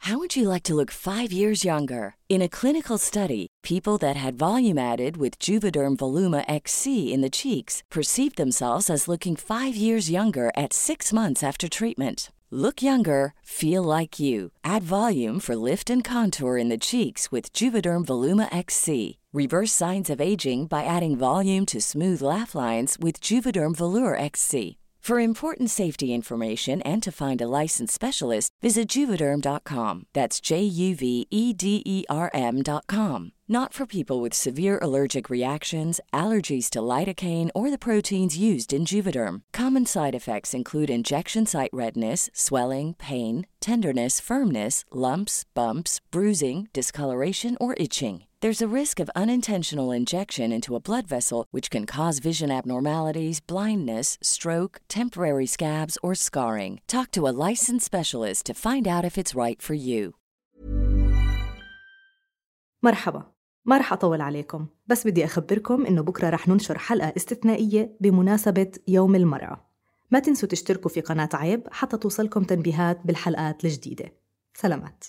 How would you like to look 5 years younger? In a clinical study, people that had volume added with Juvederm Voluma XC in the cheeks perceived themselves as looking 5 years younger at 6 months after treatment. Look younger, feel like you. Add volume for lift and contour in the cheeks with Juvederm Voluma XC. Reverse signs of aging by adding volume to smooth laugh lines with Juvederm Volure XC. For important safety information and to find a licensed specialist, visit Juvederm.com. That's JUVEDERM.com. Not for people with severe allergic reactions, allergies to lidocaine, or the proteins used in Juvederm. Common side effects include injection site redness, swelling, pain, tenderness, firmness, lumps, bumps, bruising, discoloration, or itching. There's a risk of unintentional injection into a blood vessel, which can cause vision abnormalities, blindness, stroke, temporary scabs, or scarring. Talk to a licensed specialist to find out if it's right for you. مرحبا، ما رح أطول عليكم، بس بدي أخبركم إنه بكرة رح ننشر حلقة استثنائية بمناسبة يوم المرأة. ما تنسوا تشتركوا في قناة عيب حتى توصلكم تنبيهات بالحلقات الجديدة. سلامات.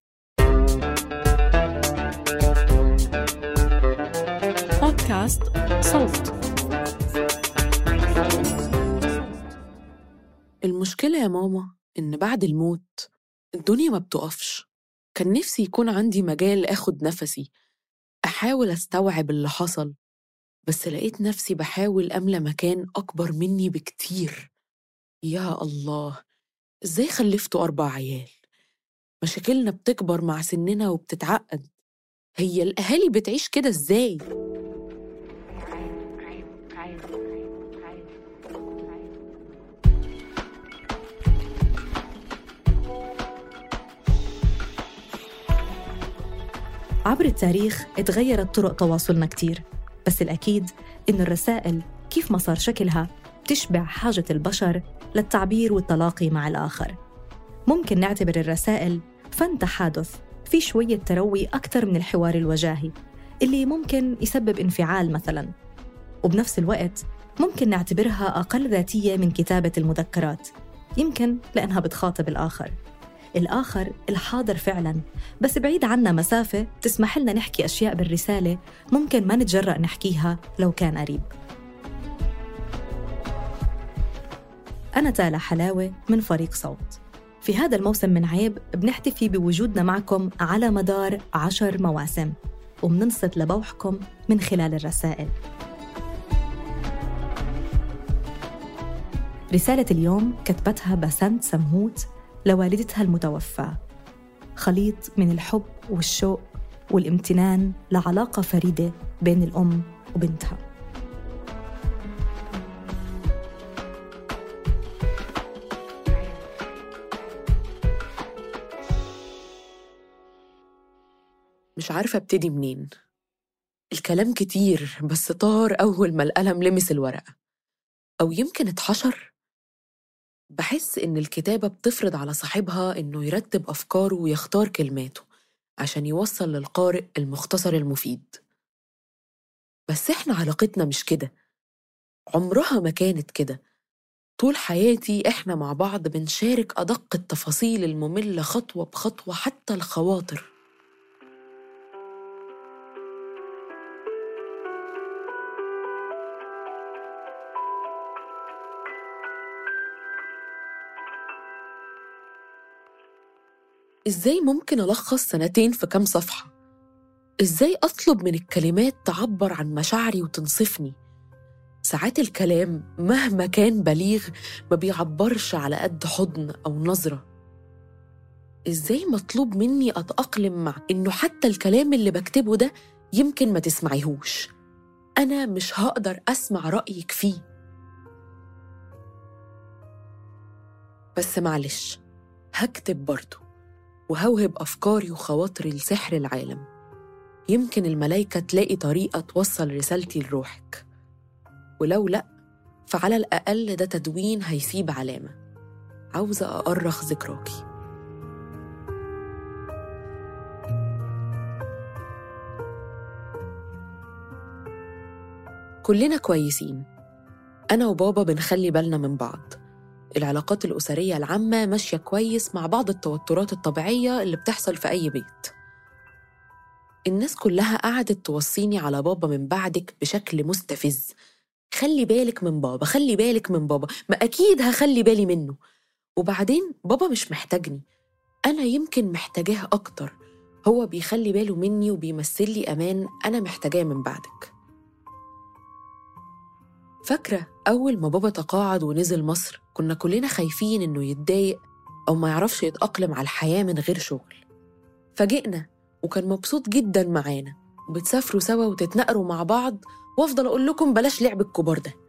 بودكاست صوت. المشكلة يا ماما إن بعد الموت الدنيا ما بتقفش. كان نفسي يكون عندي مجال أخد نفسي، أحاول أستوعب اللي حصل، بس لقيت نفسي بحاول أملى مكان أكبر مني بكتير. يا الله، إزاي خلفتوا 4 عيال؟ مشاكلنا بتكبر مع سننا وبتتعقد. هي الأهالي بتعيش كده إزاي؟ عبر التاريخ اتغيرت طرق تواصلنا كتير، بس الأكيد إن الرسائل كيف ما صار شكلها بتشبع حاجة البشر للتعبير والتلاقي مع الآخر. ممكن نعتبر الرسائل فن تحادث في شوية تروي أكثر من الحوار الوجاهي اللي ممكن يسبب انفعال مثلاً، وبنفس الوقت ممكن نعتبرها أقل ذاتية من كتابة المذكرات، يمكن لأنها بتخاطب الآخر الحاضر فعلاً، بس بعيد عنا مسافة تسمح لنا نحكي أشياء بالرسالة ممكن ما نتجرأ نحكيها لو كان قريب. أنا تالا حلاوة من فريق صوت. في هذا الموسم من عيب بنحتفي بوجودنا معكم على مدار 10 مواسم، وبننصت لبوحكم من خلال الرسائل. رسالة اليوم كتبتها بسنت سمهوت لوالدتها المتوفى، خليط من الحب والشوق والامتنان لعلاقة فريدة بين الأم وبنتها. مش عارفة ابتدي منين. الكلام كتير بس طار أول ما القلم لمس الورقة، أو يمكن اتحشر. بحس إن الكتابة بتفرض على صاحبها إنه يرتب أفكاره ويختار كلماته عشان يوصل للقارئ المختصر المفيد. بس إحنا علاقتنا مش كده، عمرها ما كانت كده. طول حياتي إحنا مع بعض بنشارك أدق التفاصيل المملة خطوة بخطوة، حتى الخواطر. إزاي ممكن ألخص 2 في كام صفحة؟ إزاي أطلب من الكلمات تعبر عن مشاعري وتنصفني؟ ساعات الكلام مهما كان بليغ ما بيعبرش على قد حضن أو نظرة. إزاي مطلوب مني أتأقلم مع إنه حتى الكلام اللي بكتبه ده يمكن ما تسمعيهوش؟ أنا مش هقدر أسمع رأيك فيه. بس معلش، هكتب برضو وهوهب أفكاري وخواطري لسحر العالم. يمكن الملايكة تلاقي طريقة توصل رسالتي لروحك، ولو لأ فعلى الأقل ده تدوين هيسيب علامة. عاوزة أأرخ ذكراكي. كلنا كويسين، أنا وبابا بنخلي بالنا من بعض، العلاقات الأسرية العامة ماشية كويس مع بعض التوترات الطبيعية اللي بتحصل في أي بيت. الناس كلها قعدت توصيني على بابا من بعدك بشكل مستفز. خلي بالك من بابا، خلي بالك من بابا. ما أكيد هخلي بالي منه. وبعدين بابا مش محتاجني، أنا يمكن محتاجاه أكتر. هو بيخلي باله مني وبيمثل لي أمان أنا محتاجاه من بعدك. فاكرة أول ما بابا تقاعد ونزل مصر كنا كلنا خايفين إنه يتضايق أو ما يعرفش يتأقلم على الحياة من غير شغل. فاجئنا وكان مبسوط جداً معانا، وبتسافروا سوا وتتنقروا مع بعض، وأفضل أقول لكم بلاش لعب الكبار ده.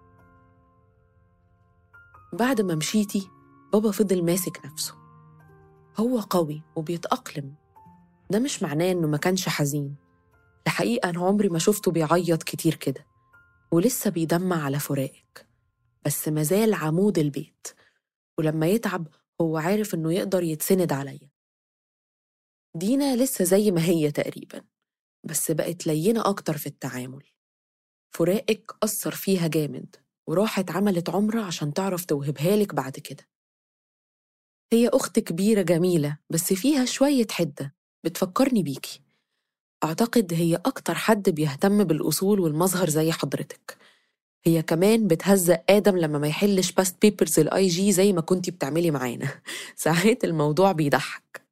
بعد ما مشيتي بابا فضل ماسك نفسه. هو قوي وبيتأقلم، ده مش معناه إنه ما كانش حزين. الحقيقة أنا عمري ما شفته بيعيط كتير كده، ولسه بيدمع على فراقك، بس مازال عمود البيت. ولما يتعب هو عارف إنه يقدر يتسند عليا. دينا لسه زي ما هي تقريباً، بس بقت لينة أكتر في التعامل. فراقك أثر فيها جامد، وراحت عملت عمرة عشان تعرف توهبها لك بعد كده. هي أخت كبيرة جميلة بس فيها شوية حدة، بتفكرني بيكي. أعتقد هي أكتر حد بيهتم بالأصول والمظهر زي حضرتك. هي كمان بتهزق آدم لما ما يحلش باست بيبرز الآي جي زي ما كنتي بتعملي معانا. ساعات الموضوع بيضحك.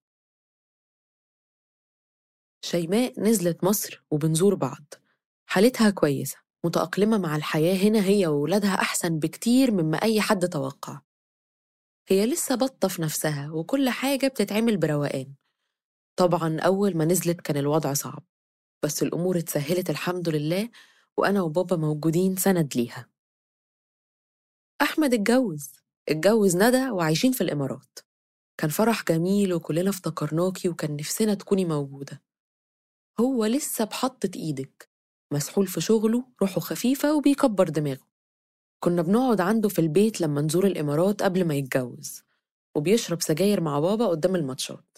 شيماء نزلت مصر وبنزور بعض. حالتها كويسة، متأقلمة مع الحياة هنا، هي وولادها أحسن بكتير مما أي حد توقع. هي لسه بطة في نفسها وكل حاجة بتتعمل بروقان. طبعاً أول ما نزلت كان الوضع صعب، بس الأمور اتسهلت الحمد لله، وأنا وبابا موجودين سند ليها. أحمد اتجوز ندى وعايشين في الإمارات. كان فرح جميل وكلنا افتكرناكي وكان نفسنا تكوني موجودة. هو لسه بحطة إيدك، مسحول في شغله، روحه خفيفة وبيكبر دماغه. كنا بنقعد عنده في البيت لما نزور الإمارات قبل ما يتجوز، وبيشرب سجاير مع بابا قدام الماتشات.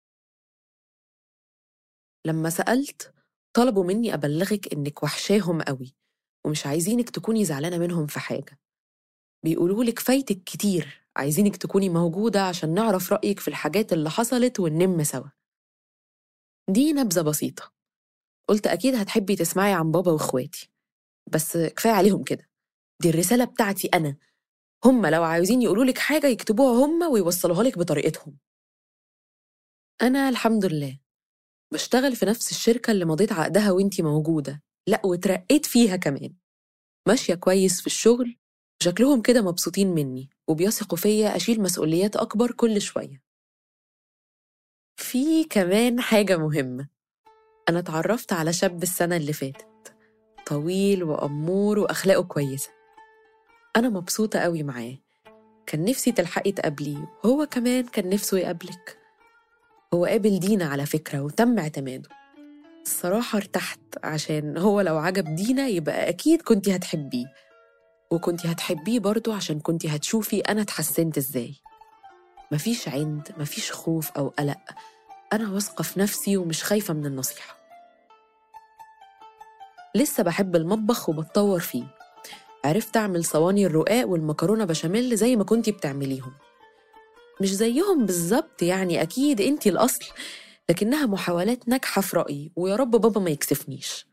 لما سألت طلبوا مني أبلغك إنك وحشاهم قوي ومش عايزينك تكوني زعلانة منهم في حاجة. بيقولوا لك فايتك كتير، عايزينك تكوني موجودة عشان نعرف رأيك في الحاجات اللي حصلت وننم سوا. دي نبذة بسيطة، قلت أكيد هتحبي تسمعي عن بابا وإخواتي، بس كفاية عليهم كده. دي الرسالة بتاعتي أنا. هم لو عايزين يقولوا لك حاجة يكتبوها هم ويوصلوها لك بطريقتهم. أنا الحمد لله بشتغل في نفس الشركة اللي مضيت عقدها وإنتي موجودة، لأ وترقيت فيها كمان. ماشية كويس في الشغل، شكلهم كده مبسوطين مني وبيثقوا فيا أشيل مسؤوليات أكبر كل شوية. في كمان حاجة مهمة، أنا اتعرفت على شاب السنة اللي فاتت، طويل وأمور وأخلاقه كويسة. أنا مبسوطة قوي معاه. كان نفسي تلحقي تقابليه، وهو كمان كان نفسه يقابلك. هو قابل دينا على فكرة وتم اعتماده. الصراحة ارتحت، عشان هو لو عجب دينا يبقى أكيد كنتي هتحبيه، وكنتي هتحبيه برضو عشان كنتي هتشوفي أنا اتحسنت إزاي. مفيش عند، مفيش خوف أو قلق. أنا واثقة في نفسي ومش خايفة من النصيحة. لسه بحب المطبخ وبتطور فيه. عرفت أعمل صواني الرقاق والمكرونة بشاميل زي ما كنتي بتعمليهم. مش زيهم بالظبط يعني، أكيد أنتي الأصل، لكنها محاولات ناجحة في رأيي، ويا رب بابا ما يكسفنيش.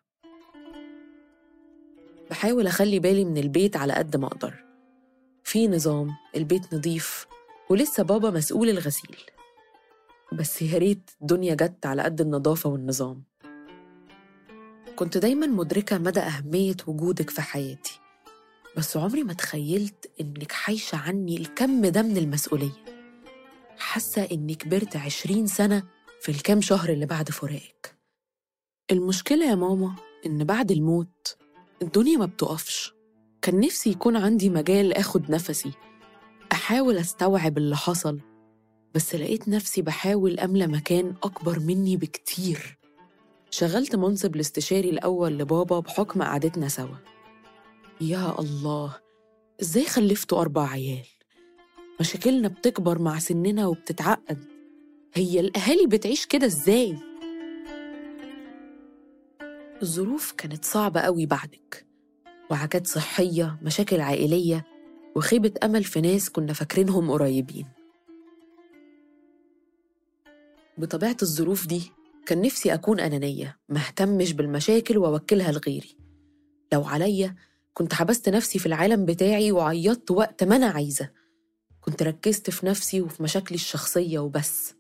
بحاول أخلي بالي من البيت على قد ما أقدر. في نظام، البيت نظيف، ولسه بابا مسؤول الغسيل. بس يا ريت الدنيا جت على قد النظافة والنظام. كنت دايما مدركة مدى أهمية وجودك في حياتي، بس عمري ما تخيلت إنك حايشة عني الكم ده من المسؤولية. حاسة إني كبرت 20 سنة في الكام شهر اللي بعد فراقك. المشكلة يا ماما إن بعد الموت الدنيا ما بتقفش. كان نفسي يكون عندي مجال أخد نفسي، أحاول أستوعب اللي حصل، بس لقيت نفسي بحاول أملى مكان أكبر مني بكتير. شغلت منصب الاستشاري الأول لبابا بحكم قعدتنا سوا. يا الله، إزاي خلفتوا 4 عيال؟ مشاكلنا بتكبر مع سننا وبتتعقد. هي الأهالي بتعيش كده إزاي؟ الظروف كانت صعبة قوي بعدك، وعكات صحية، مشاكل عائلية. وخيبة أمل في ناس كنا فاكرينهم قريبين. بطبيعة الظروف دي كان نفسي أكون أنانية، مهتمش بالمشاكل وأوكلها لغيري. لو عليا كنت حبست نفسي في العالم بتاعي وعيطت وقت ما أنا عايزة، كنت ركزت في نفسي وفي مشاكلي الشخصية وبس.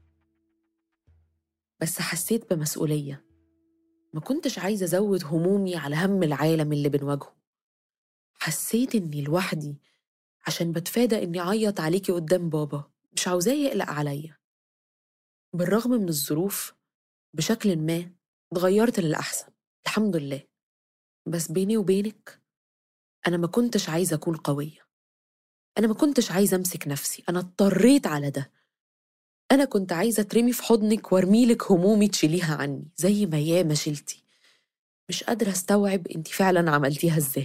بس حسيت بمسؤولية، ما كنتش عايزة أزود همومي على هم العالم اللي بنواجهه. حسيت إني لوحدي عشان بتفادى إني أعيط عليكي قدام بابا، مش عاوزاه يقلق عليا. بالرغم من الظروف بشكل ما اتغيرت للأحسن الحمد لله، بس بيني وبينك أنا ما كنتش عايزة أكون قوية، أنا ما كنتش عايزة أمسك نفسي، أنا اضطريت على ده. أنا كنت عايزة ترمي في حضنك وارميلك همومي تشيليها عني زي ما ياما شلتي. مش قادرة استوعب انتي فعلا عملتيها ازاي.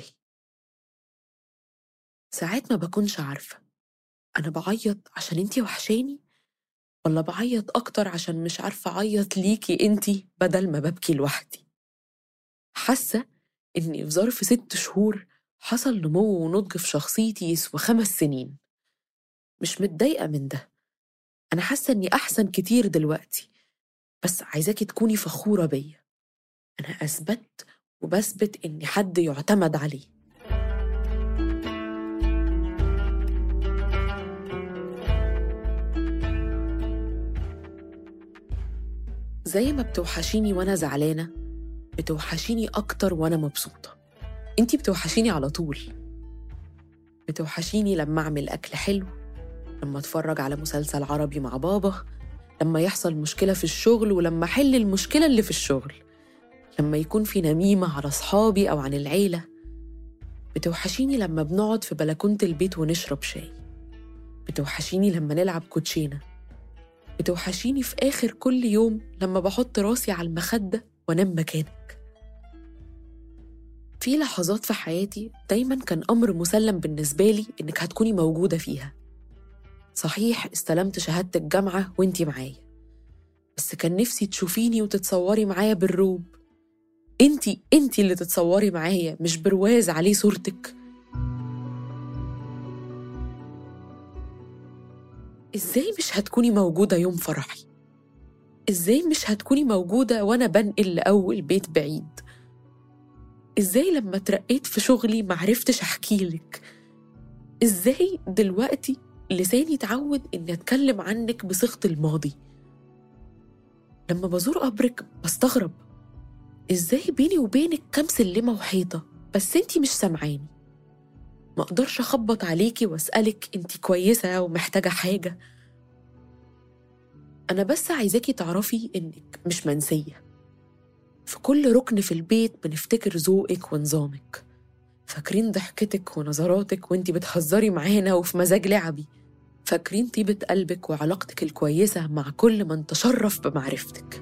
ساعات ما بكونش عارفة أنا بعيط عشان انتي وحشاني، ولا بعيط أكتر عشان مش عارفة أعيط ليكي انتي بدل ما ببكي لوحدي. حاسة إني في ظرف 6 شهور حصل نمو ونضج في شخصيتي يسوى 5 سنين. مش متضايقة من ده، أنا حاسة إني أحسن كتير دلوقتي، بس عايزاكي تكوني فخورة بيا. أنا أثبت وبثبت إني حد يعتمد عليه. زي ما بتوحشيني وأنا زعلانة، بتوحشيني أكتر وأنا مبسوطة. أنتي بتوحشيني على طول، بتوحشيني لما أعمل أكل حلو، لما أتفرج على مسلسل عربي مع بابا، لما يحصل مشكلة في الشغل ولما أحل المشكلة اللي في الشغل، لما يكون في نميمة على صحابي أو عن العيلة. بتوحشيني لما بنقعد في بلكونة البيت ونشرب شاي، بتوحشيني لما نلعب كوتشينة، بتوحشيني في آخر كل يوم لما بحط راسي على المخدة وانام مكانك. في لحظات في حياتي دايما كان أمر مسلم بالنسبة لي إنك هتكوني موجودة فيها. صحيح استلمت شهادة الجامعة وانتي معايا، بس كان نفسي تشوفيني وتتصوري معايا بالروب. انتي اللي تتصوري معايا، مش برواز عليه صورتك. ازاي مش هتكوني موجودة يوم فرحي؟ ازاي مش هتكوني موجودة وانا بنقل لأول بيت بعيد؟ ازاي لما ترقيت في شغلي معرفتش احكيلك؟ ازاي دلوقتي لساني اتعود اني اتكلم عنك بصيغة الماضي؟ لما بزور قبرك بستغرب ازاي بيني وبينك كام سلمة وحيطة بس انتي مش سامعاني. ما اقدرش اخبط عليكي واسألك انتي كويسة ومحتاجة حاجة. انا بس عايزاكي تعرفي انك مش منسية. في كل ركن في البيت بنفتكر ذوقك ونظامك، فاكرين ضحكتك ونظراتك وانتي بتهزري معانا وفي مزاج لعبي، فاكرين طيبة قلبك وعلاقتك الكويسة مع كل من تشرف بمعرفتك.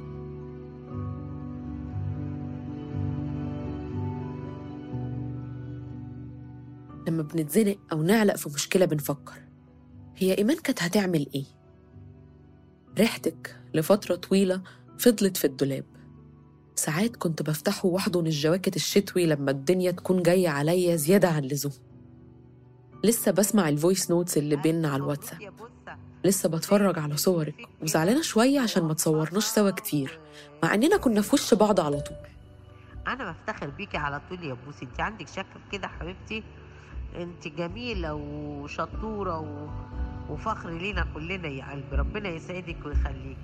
لما بنتزنق أو نعلق في مشكلة بنفكر هي إيمان كانت هتعمل إيه؟ ريحتك لفترة طويلة فضلت في الدولاب. ساعات كنت بفتحه واحضن الجواكت الشتوي لما الدنيا تكون جاية عليا زيادة عن اللزوم. لسه بسمع الفويس نوتس اللي بيننا على الواتساب، لسه بتفرج على صورك وزعلانة شوية عشان ما تصورناش سوا كتير مع إننا كنا في وش بعض على طول. أنا بفتخر بيكي على طول يا بوسي، انت عندك شك في كده حبيبتي؟ انت جميلة وشطورة وفخر لينا كلنا يا قلبي، ربنا يسعدك ويخليك.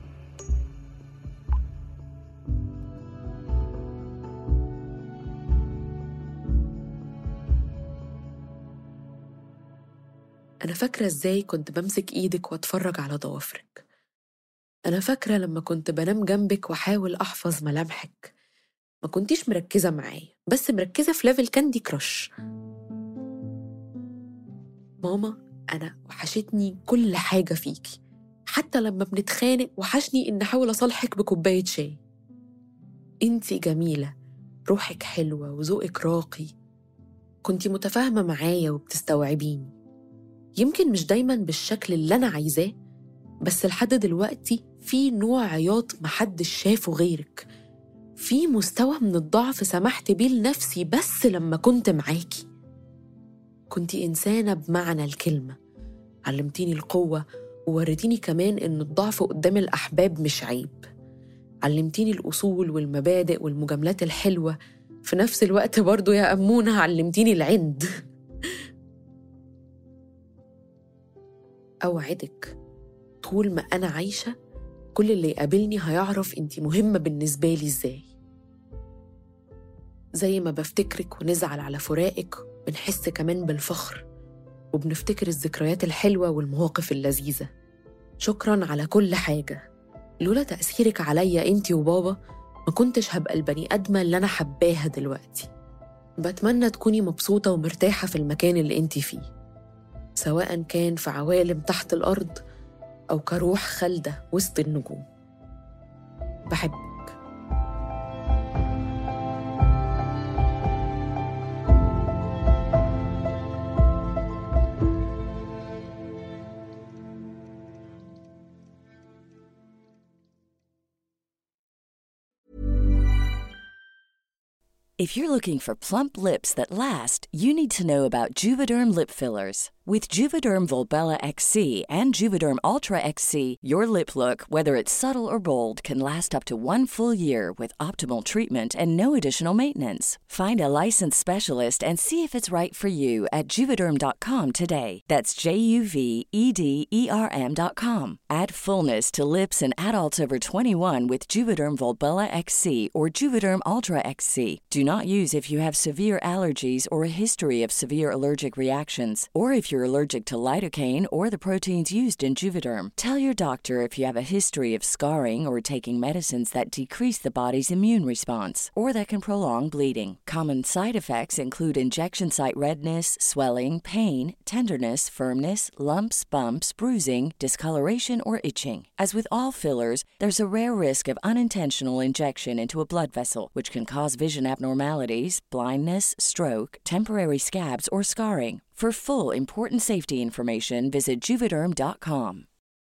أنا فاكرة إزاي كنت بمسك إيدك وأتفرج على ضوافرك. أنا فاكرة لما كنت بنام جنبك وحاول أحفظ ملامحك. ما كنتيش مركزة معايا، بس مركزة في ليفل كاندي كراش. ماما، أنا وحشتني كل حاجة فيكي، حتى لما بنتخانق وحشني إن أحاول أصالحك بكوباية شاي. إنتي جميلة، روحك حلوة وذوقك راقي، كنتي متفاهمة معايا وبتستوعبيني. يمكن مش دايماً بالشكل اللي أنا عايزاه، بس لحد دلوقتي في نوع عياط محدش شافه غيرك، في مستوى من الضعف سمحت بيه لنفسي بس لما كنت معاكي. كنتي إنسانة بمعنى الكلمة، علمتيني القوة ووريتيني كمان إن الضعف قدام الأحباب مش عيب. علمتيني الأصول والمبادئ والمجاملات الحلوة، في نفس الوقت برضو يا أمونة علمتيني العند. أوعدك طول ما أنا عايشة كل اللي يقابلني هيعرف أنتي مهمة بالنسبة لي إزاي. زي ما بفتكرك ونزعل على فراقك بنحس كمان بالفخر، وبنفتكر الذكريات الحلوة والمواقف اللذيذة. شكراً على كل حاجة. لولا تأثيرك عليا أنتي وبابا ما كنتش هبقى البني آدمة اللي أنا حباها دلوقتي. بتمنى تكوني مبسوطة ومرتاحة في المكان اللي أنتي فيه، سواء كان في عوالم تحت الأرض أو كروح خالدة وسط النجوم. بحبك. If you're looking for plump lips that last, you need to know about Juvederm lip fillers. With Juvederm Volbella XC and Juvederm Ultra XC, your lip look, whether it's subtle or bold, can last up to 1 full year with optimal treatment and no additional maintenance. Find a licensed specialist and see if it's right for you at Juvederm.com today. That's JUVEDERM.com. Add fullness to lips in adults over 21 with Juvederm Volbella XC or Juvederm Ultra XC. Do not use if you have severe allergies or a history of severe allergic reactions, or if you're allergic to lidocaine or the proteins used in Juvederm. Tell your doctor if you have a history of scarring or taking medicines that decrease the body's immune response or that can prolong bleeding. Common side effects include injection site redness, swelling, pain, tenderness, firmness, lumps, bumps, bruising, discoloration, or itching. As with all fillers, there's a rare risk of unintentional injection into a blood vessel, which can cause vision abnormalities, blindness, stroke, temporary scabs, or scarring. For full, important safety information, visit Juvederm.com.